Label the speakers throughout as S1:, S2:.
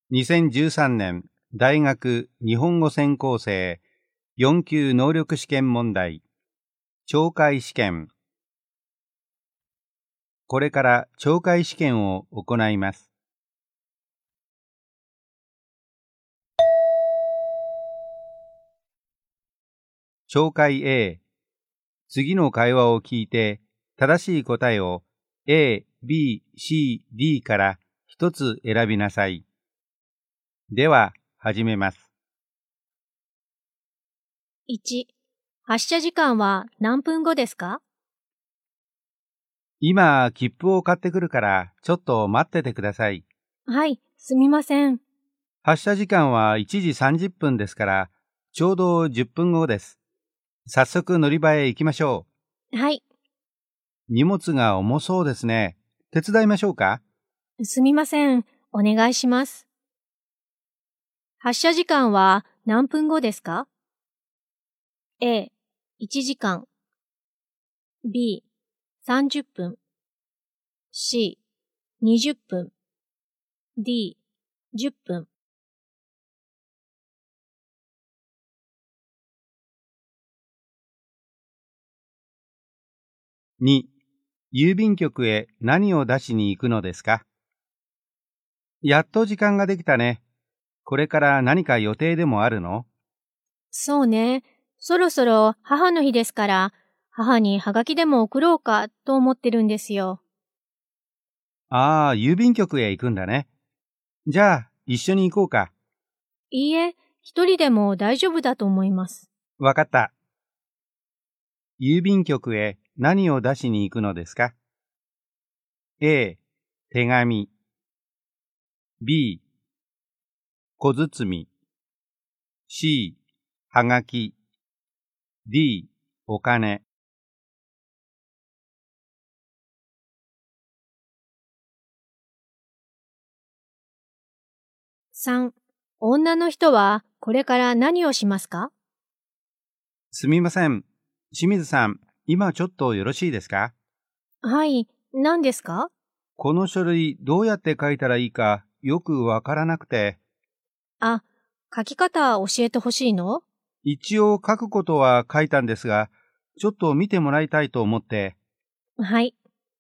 S1: 2013年大学日本語専攻生4級能力試験問題懲戒試験。これから懲戒試験を行います。懲戒 A。次の会話を聞いて正しい答えを A、B、C、D から一つ選びなさい。では始めます。
S2: 1、発車時間は何分後ですか？
S1: 今、切符を買ってくるからちょっと待っててください。
S2: はい、すみません。
S1: 発車時間は1時30分ですから、ちょうど10分後です。早速乗り場へ行きましょ
S2: う。はい。
S1: 荷物が重そうですね。手伝いましょうか？
S2: すみません。お願いします。発車時間は何分後ですか？ A、1時間。B、30分。C、20分。D、10分。
S1: 2、郵便局へ何を出しに行くのですか？やっと時間ができたね。これから何か予定でもあるの？
S2: そうね。そろそろ母の日ですから、母にハガキでも送ろうかと思ってるんですよ。
S1: ああ、郵便局へ行くんだね。じゃあ、一緒に行こうか。
S2: いいえ、一人でも大丈夫だと思います。
S1: わかった。郵便局へ何を出しに行くのですか？ A、手紙。B、小包。C、はがき。D、お金。
S2: 3、女の人はこれから何をしますか？
S1: すみません。清水さん、今ちょっとよろしいですか？
S2: はい、何ですか？
S1: この書類どうやって書いたらいいかよくわからなくて。
S2: あ、書き方教えてほしいの？
S1: 一応書くことは書いたんですが、ちょっと見てもらいたいと思って。
S2: はい。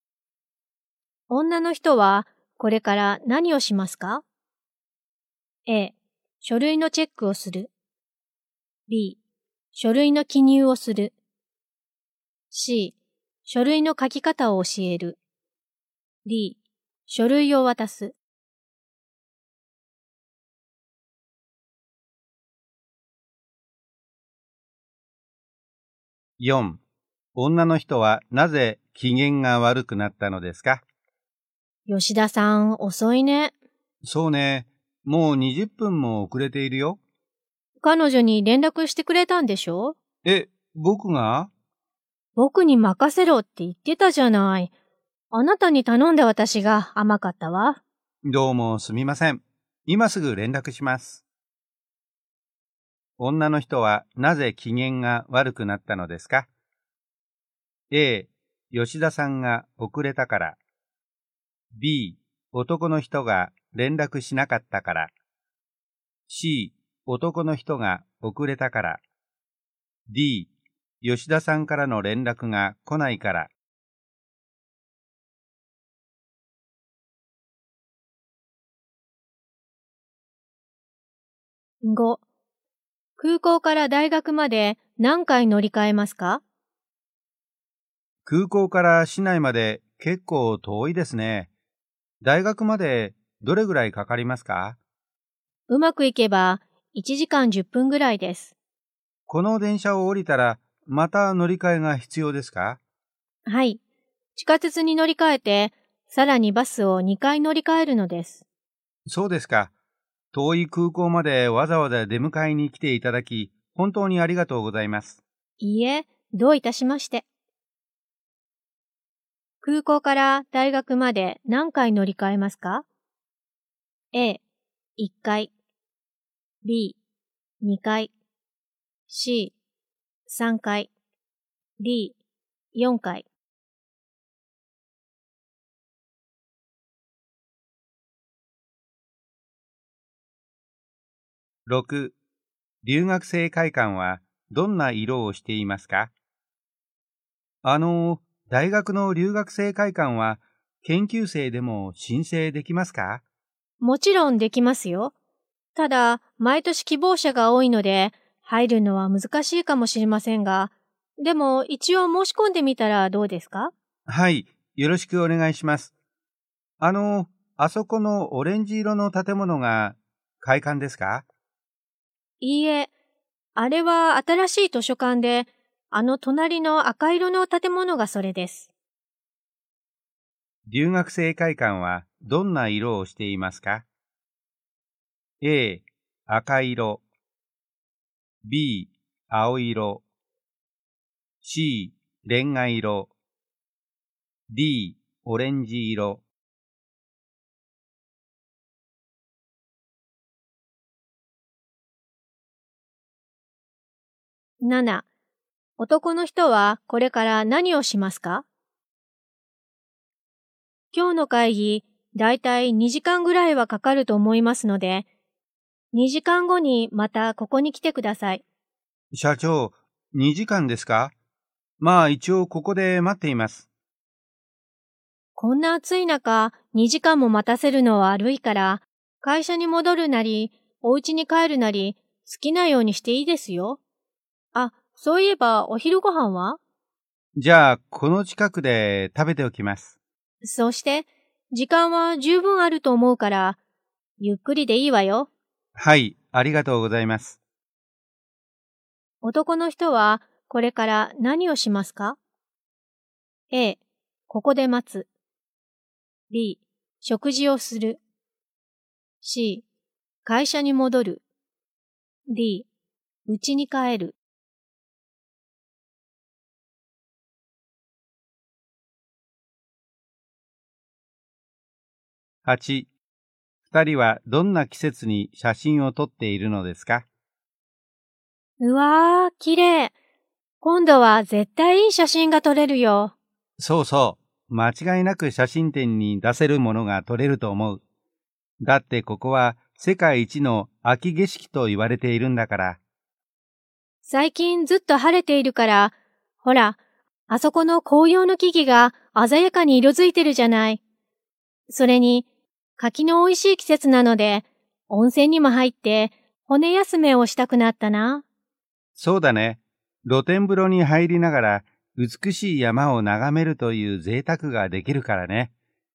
S2: 女の人はこれから何をしますか？ A、書類のチェックをする。B、書類の記入をする。C、書類の書き方を教える。D、書類を渡す。
S1: 4、女の人はなぜ機嫌が悪くなったのですか？
S2: 吉田さん、遅いね。
S1: そうね。もう20分も遅れているよ。
S2: 彼女に連絡してくれたんでしょ？
S1: 僕が？
S2: 僕に任せろって言ってたじゃない。あなたに頼んだ私が甘かったわ。
S1: どうもすみません。今すぐ連絡します。女の人はなぜ機嫌が悪くなったのですか？ A、吉田さんが遅れたから。B、男の人が連絡しなかったから。C、男の人が遅れたから。D、吉田さんからの連絡が来ないから。
S2: 5、空港から大学まで何回乗り換えますか？
S1: 空港から市内まで結構遠いですね。大学までどれぐらいかかりますか？
S2: うまくいけば1時間10分ぐらいです。
S1: この電車を降りたらまた乗り換えが必要ですか？
S2: はい。地下鉄に乗り換えて、さらにバスを2回乗り換えるのです。
S1: そうですか。遠い空港までわざわざ出迎えに来ていただき、本当にありがとうございます。
S2: いいえ、どういたしまして。空港から大学まで何回乗り換えますか？ A、1回。B、2回。C、3回。D、4回。
S1: 6、留学生会館はどんな色をしていますか？大学の留学生会館は研究生でも申請できますか？
S2: もちろんできますよ。ただ、毎年希望者が多いので、入るのは難しいかもしれませんが、でも一応申し込んでみたらどうですか？
S1: はい、よろしくお願いします。あそこのオレンジ色の建物が会館ですか？
S2: いいえ、あれは新しい図書館で、あの隣の赤色の建物がそれです。
S1: 留学生会館はどんな色をしていますか？ A、赤色、B、青色、C、レンガ色、D、オレンジ色。
S2: 7、男の人はこれから何をしますか？今日の会議、だいたい2時間ぐらいはかかると思いますので、2時間後にまたここに来てください。
S1: 社長、2時間ですか？まあ一応ここで待っています。
S2: こんな暑い中、2時間も待たせるのは悪いから、会社に戻るなり、お家に帰るなり、好きなようにしていいですよ。あ、そういえばお昼ご飯は？
S1: じゃあこの近くで食べておきます。
S2: そうして、時間は十分あると思うから、ゆっくりでいいわよ。
S1: はい、ありがとうございます。
S2: 男の人はこれから何をしますか？ A、ここで待つ。B、食事をする。C、会社に戻る。D、家に帰る。
S1: 8、2人はどんな季節に写真を撮っているのですか？
S2: うわー、綺麗。今度は絶対いい写真が撮れるよ。
S1: そうそう、間違いなく写真展に出せるものが撮れると思う。だってここは世界一の秋景色と言われているんだから。
S2: 最近ずっと晴れているから、ほら、あそこの紅葉の木々が鮮やかに色づいてるじゃない。それに、柿の美味しい季節なので、温泉にも入って骨休めをしたくなったな。
S1: そうだね。露天風呂に入りながら美しい山を眺めるという贅沢ができるからね。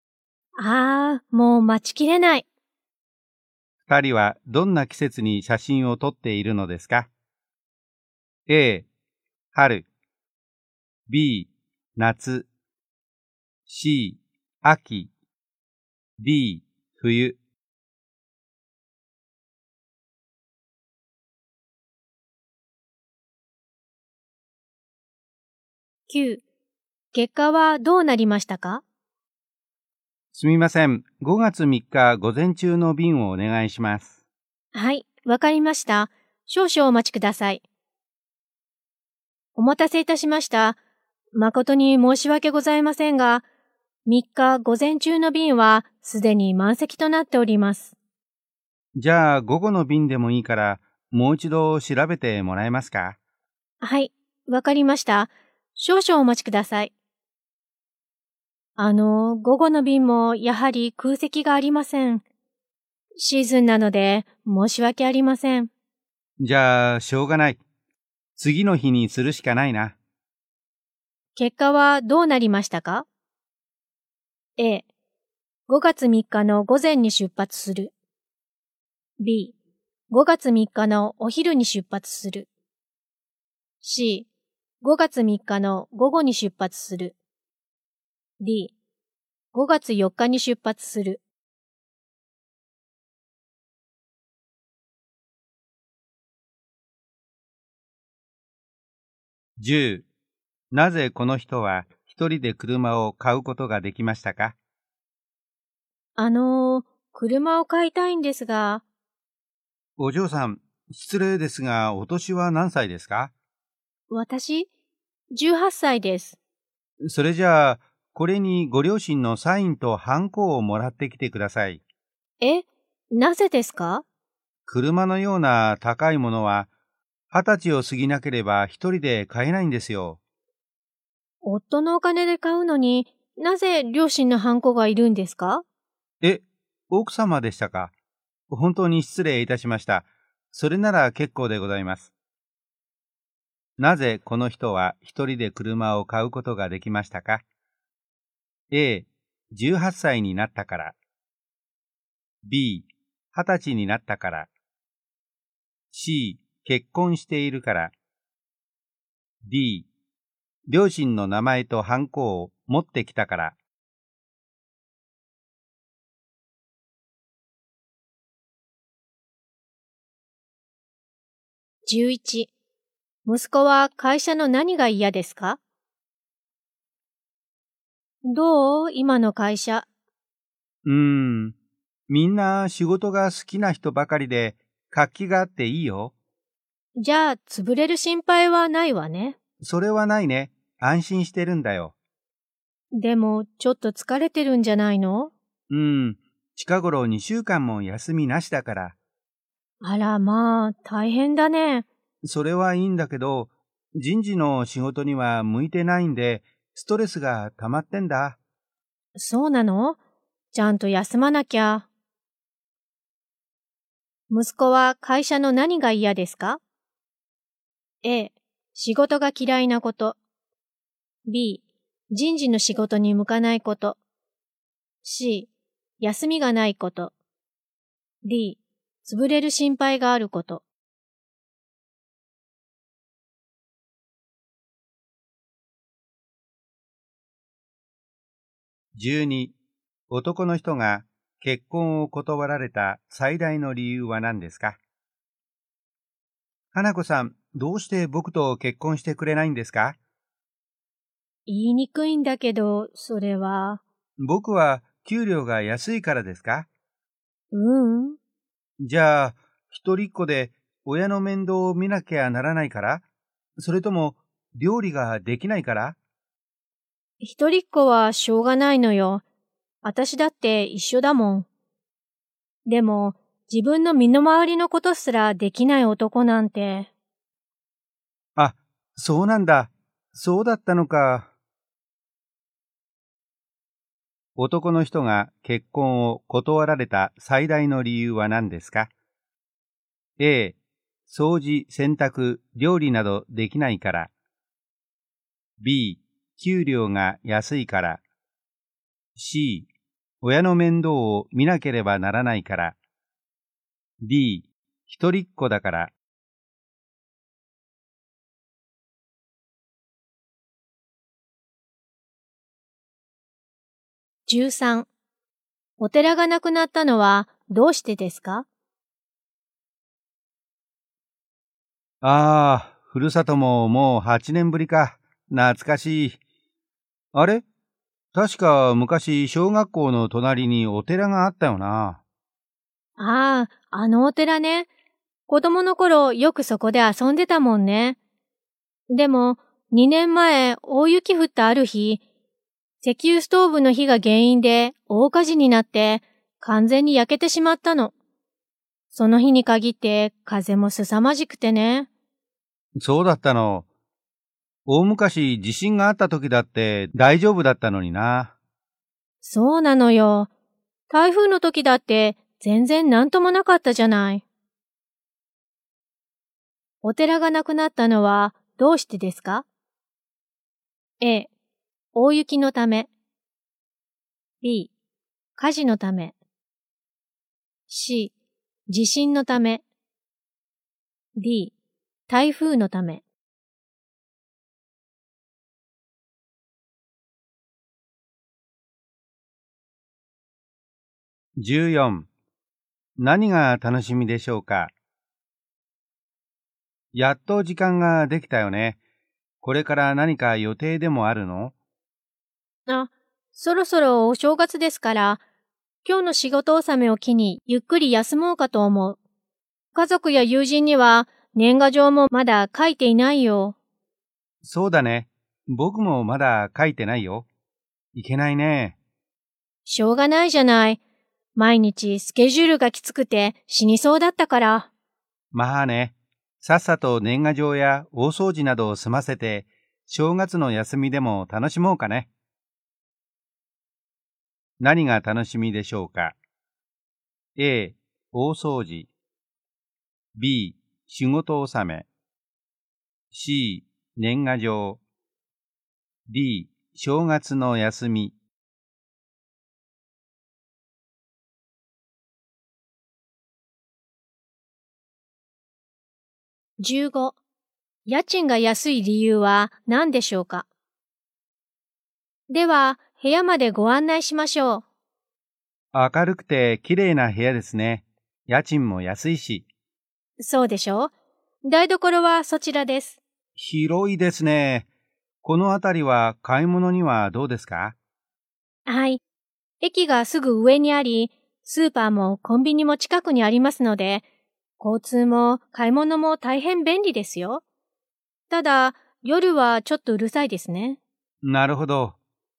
S2: もう待ちきれない。
S1: 二人はどんな季節に写真を撮っているのですか？ A、春、B、夏、C、秋、D、冬。
S2: 9、結果はどうなりましたか？
S1: すみません。5月3日午前中の便をお願いします。
S2: はい、わかりました。少々お待ちください。お待たせいたしました。誠に申し訳ございませんが、3日午前中の便はすでに満席となっております。
S1: じゃあ午後の便でもいいからもう一度調べてもらえますか？
S2: はい、わかりました。少々お待ちください。午後の便もやはり空席がありません。シーズンなので申し訳ありません。
S1: じゃあしょうがない。次の日にするしかないな。
S2: 結果はどうなりましたか？ A、5月3日の午前に出発する。B、5月3日のお昼に出発する。C、5月3日の午後に出発する。D、5月4日に出発する。
S1: 10、なぜこの人は一人で車を買うことができましたか？
S2: 車を買いたいんですが。
S1: お嬢さん、失礼ですが、お年は何歳ですか？
S2: 私、18歳です。
S1: それじゃあ、これにご両親のサインとハンコをもらってきてください。
S2: え、なぜですか？
S1: 車のような高いものは、20歳を過ぎなければ一人で買えないんですよ。
S2: 夫のお金で買うのになぜ両親のハンコがいるんですか？
S1: え、奥様でしたか。本当に失礼いたしました。それなら結構でございます。なぜこの人は一人で車を買うことができましたか？ A、18歳になったから。B、20歳になったから。C、結婚しているから。D、両親の名前とハンコを持ってきたから。
S2: 11、息子は会社の何が嫌ですか？どう？今の会社。
S1: みんな仕事が好きな人ばかりで活気があっていいよ。
S2: じゃあ、潰れる心配はないわね。
S1: それはないね。安心してるんだよ。
S2: でも、ちょっと疲れてるんじゃないの？
S1: 近頃2週間も休みなしだから。
S2: あらまあ、大変だね。
S1: それはいいんだけど、人事の仕事には向いてないんで、ストレスが溜まってんだ。
S2: そうなの？ちゃんと休まなきゃ。息子は会社の何が嫌ですか？ A、仕事が嫌いなこと。B、人事の仕事に向かないこと。C、休みがないこと。D、潰れる心配があること。
S1: 12、男の人が結婚を断られた最大の理由は何ですか？花子さん、どうして僕と結婚してくれないんですか？
S2: 言いにくいんだけど、それは。
S1: 僕は給料が安いからですか？
S2: うん。
S1: じゃあ、一人っ子で親の面倒を見なきゃならないから？それとも料理ができないから？
S2: 一人っ子はしょうがないのよ。私だって一緒だもん。でも、自分の身の回りのことすらできない男なんて。
S1: あ、そうなんだ。そうだったのか。男の人が結婚を断られた最大の理由は何ですか？ A、掃除、洗濯、料理などできないから。B、給料が安いから。C、親の面倒を見なければならないから。D、一人っ子だから。
S2: 13、お寺がなくなったのはどうしてですか？
S1: ふるさとももう8年ぶりか。懐かしい。あれ？確か昔小学校の隣にお寺があったよな。
S2: ああ、あのお寺ね。子供の頃よくそこで遊んでたもんね。でも、2年前大雪降ったある日、石油ストーブの火が原因で大火事になって完全に焼けてしまったの。その日に限って風も凄まじくてね。
S1: そうだったの。大昔地震があった時だって大丈夫だったのにな。
S2: そうなのよ。台風の時だって全然なんともなかったじゃない。お寺がなくなったのはどうしてですか？ A、大雪のため。B、火事のため。C、地震のため。D、台風のため。
S1: 14、何が楽しみでしょうか？やっと時間ができたよね。これから何か予定でもあるの？
S2: あ、そろそろお正月ですから、今日の仕事納めを機にゆっくり休もうかと思う。家族や友人には年賀状もまだ書いていないよ。
S1: そうだね。僕もまだ書いてないよ。いけないね。
S2: しょうがないじゃない。 毎日スケジュールがきつくて死にそうだったから。
S1: まあね、さっさと年賀状や大掃除などを済ませて、正月の休みでも楽しもうかね。何が楽しみでしょうか。A、大掃除。B、仕事納め。C、年賀状。D、正月の休み。
S2: 15、家賃が安い理由は何でしょうか。では、部屋までご案内しましょう。
S1: 明るくて綺麗な部屋ですね。家賃も安いし。
S2: そうでしょう。台所はそちらです。
S1: 広いですね。この辺りは買い物にはどうですか？
S2: はい。駅がすぐ上にあり、スーパーもコンビニも近くにありますので、交通も買い物も大変便利ですよ。ただ、夜はちょっとうるさいですね。
S1: なるほど。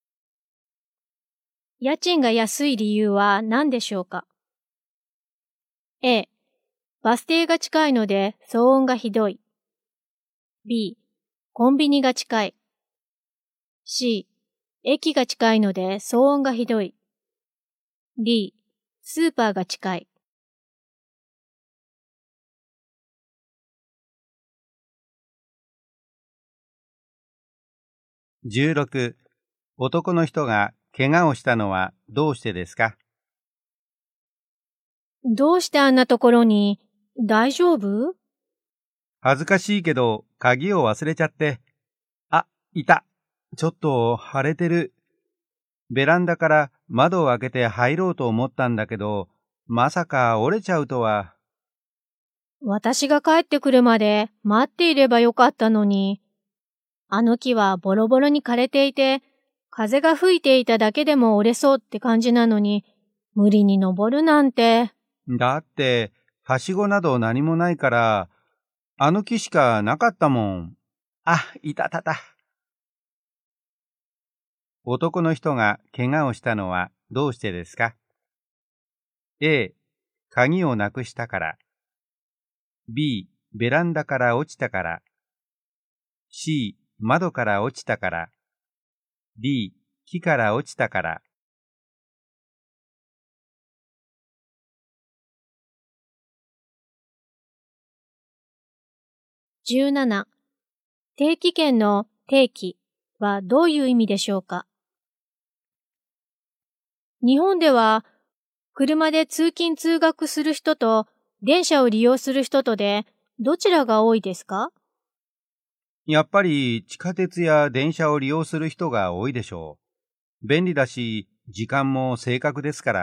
S2: 家賃が安い理由は何でしょうか。A、バス停が近いので騒音がひどい。B、コンビニが近い。C、駅が近いので騒音がひどい。D、スーパーが近い。
S1: 16、男の人が怪我をしたのはどうしてですか？
S2: どうしてあんなところに、大丈夫？
S1: 恥ずかしいけど鍵を忘れちゃって。あ、いた。ちょっと腫れてる。ベランダから窓を開けて入ろうと思ったんだけど、まさか折れちゃうとは。
S2: 私が帰ってくるまで待っていればよかったのに。あの木はボロボロに枯れていて、風が吹いていただけでも折れそうって感じなのに、無理に登るなんて。
S1: だって、はしごなど何もないから、あの木しかなかったもん。あ、いたたた。男の人が怪我をしたのはどうしてですか？ A、鍵をなくしたから。B、ベランダから落ちたから。C、窓から落ちたから。D、木から落ちたから。
S2: 17、定期券の定期はどういう意味でしょうか。日本では、車で通勤通学する人と電車を利用する人とで、どちらが多いですか？
S1: やっぱり地下鉄や電車を利用する人が多いでしょう。便利だし、時間も正確ですから。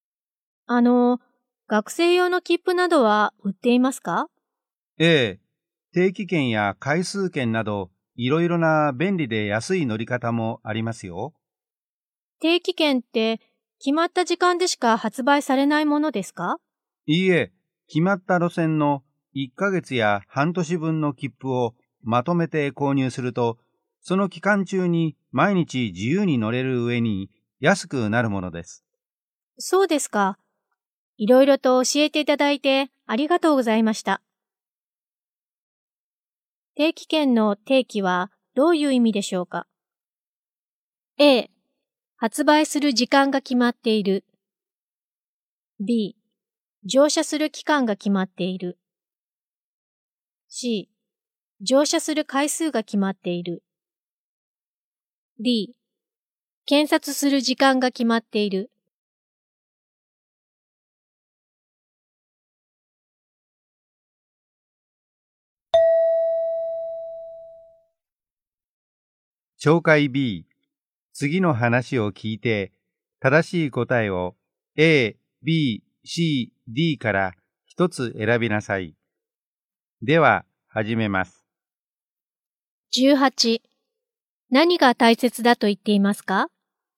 S2: 学生用の切符などは売っていますか？
S1: ええ、定期券や回数券など、いろいろな便利で安い乗り方もありますよ。
S2: 定期券って決まった時間でしか発売されないものですか？
S1: いいえ、決まった路線の1ヶ月や半年分の切符をまとめて購入すると、その期間中に毎日自由に乗れる上に安くなるものです。
S2: そうですか。いろいろと教えていただいてありがとうございました。定期券の定期はどういう意味でしょうか。A、発売する時間が決まっている。B、乗車する期間が決まっている。C、乗車する回数が決まっている。D、検察する時間が決まっている。
S1: 紹介 B、次の話を聞いて、正しい答えを A、B、C、D から一つ選びなさい。では、始めます。
S2: 18、何が大切だと言っていますか？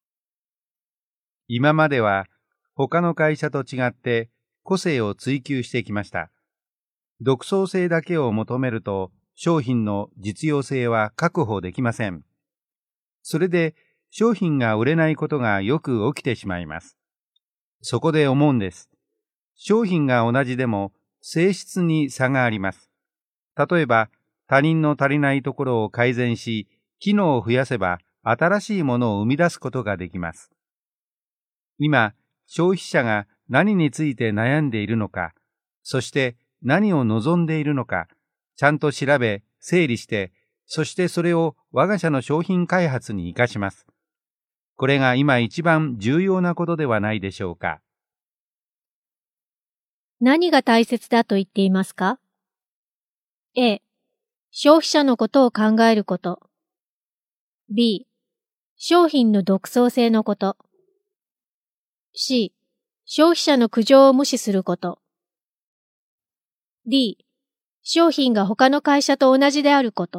S1: 今までは他の会社と違って個性を追求してきました。独創性だけを求めると商品の実用性は確保できません。それで商品が売れないことがよく起きてしまいます。 そこで思うんです。商品が同じでも性質に差があります。例えば、他人の足りないところを改善し、機能を増やせば新しいものを生み出すことができます。今、消費者が何について悩んでいるのか、そして何を望んでいるのか、ちゃんと調べ、整理して、そしてそれを我が社の商品開発に生かします。これが今一番重要なことではないでしょうか。
S2: 何が大切だと言っていますか？ A、消費者のことを考えること。B、商品の独創性のこと。C、消費者の苦情を無視すること。D、商品が他の会社と同じであること。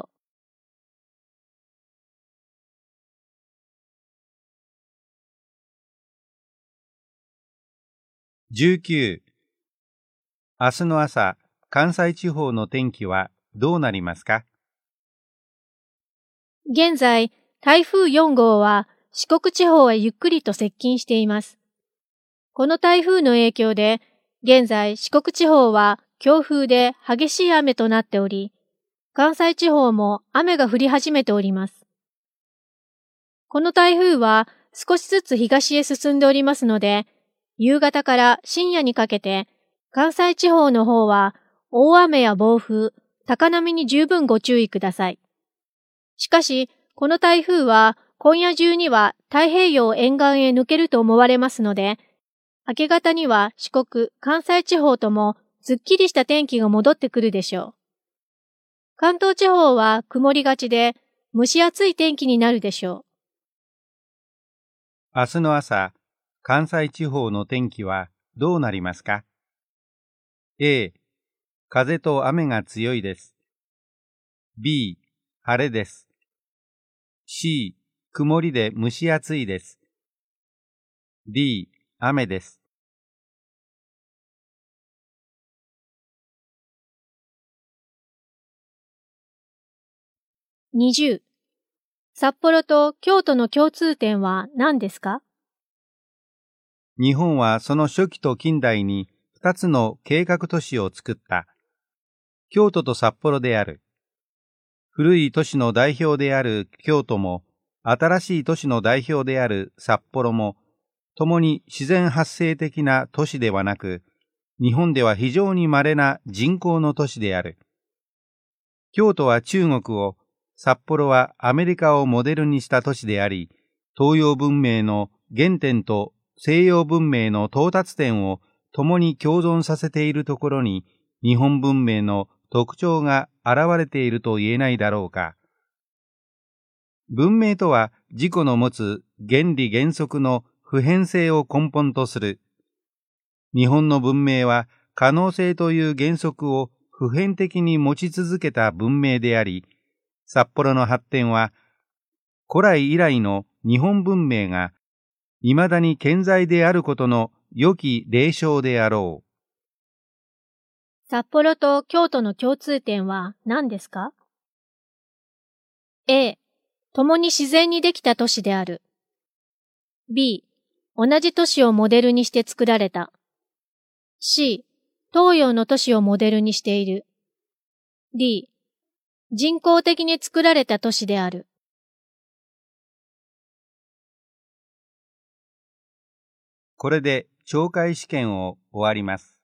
S1: 19、明日の朝、関西地方の天気はどうなりますか？
S2: 現在、台風4号は四国地方へゆっくりと接近しています。この台風の影響で、現在四国地方は強風で激しい雨となっており、関西地方も雨が降り始めております。この台風は少しずつ東へ進んでおりますので、夕方から深夜にかけて、関西地方の方は大雨や暴風、高波に十分ご注意ください。しかし、この台風は今夜中には太平洋沿岸へ抜けると思われますので、明け方には四国、関西地方ともすっきりした天気が戻ってくるでしょう。関東地方は曇りがちで蒸し暑い天気になるでしょう。
S1: 明日の朝、関西地方の天気はどうなりますか？ A、風と雨が強いです。B、晴れです。C、曇りで蒸し暑いです。D、雨です。
S2: 20、札幌と京都の共通点は何ですか？
S1: 日本はその初期と近代に2つの計画都市を作った。京都と札幌である。古い都市の代表である京都も、新しい都市の代表である札幌も、共に自然発生的な都市ではなく、日本では非常に稀な人工の都市である。京都は中国を、札幌はアメリカをモデルにした都市であり、東洋文明の原点と西洋文明の到達点を共に共存させているところに、日本文明の特徴が現れていると言えないだろうか。文明とは自己の持つ原理原則の普遍性を根本とする。日本の文明は可能性という原則を普遍的に持ち続けた文明であり、札幌の発展は古来以来の日本文明が未だに健在であることの良き例証であろう。
S2: 札幌と京都の共通点は何ですか？ A、共に自然にできた都市である。B、同じ都市をモデルにして作られた。C、東洋の都市をモデルにしている。D、人工的に作られた都市である。
S1: これで懲戒試験を終わります。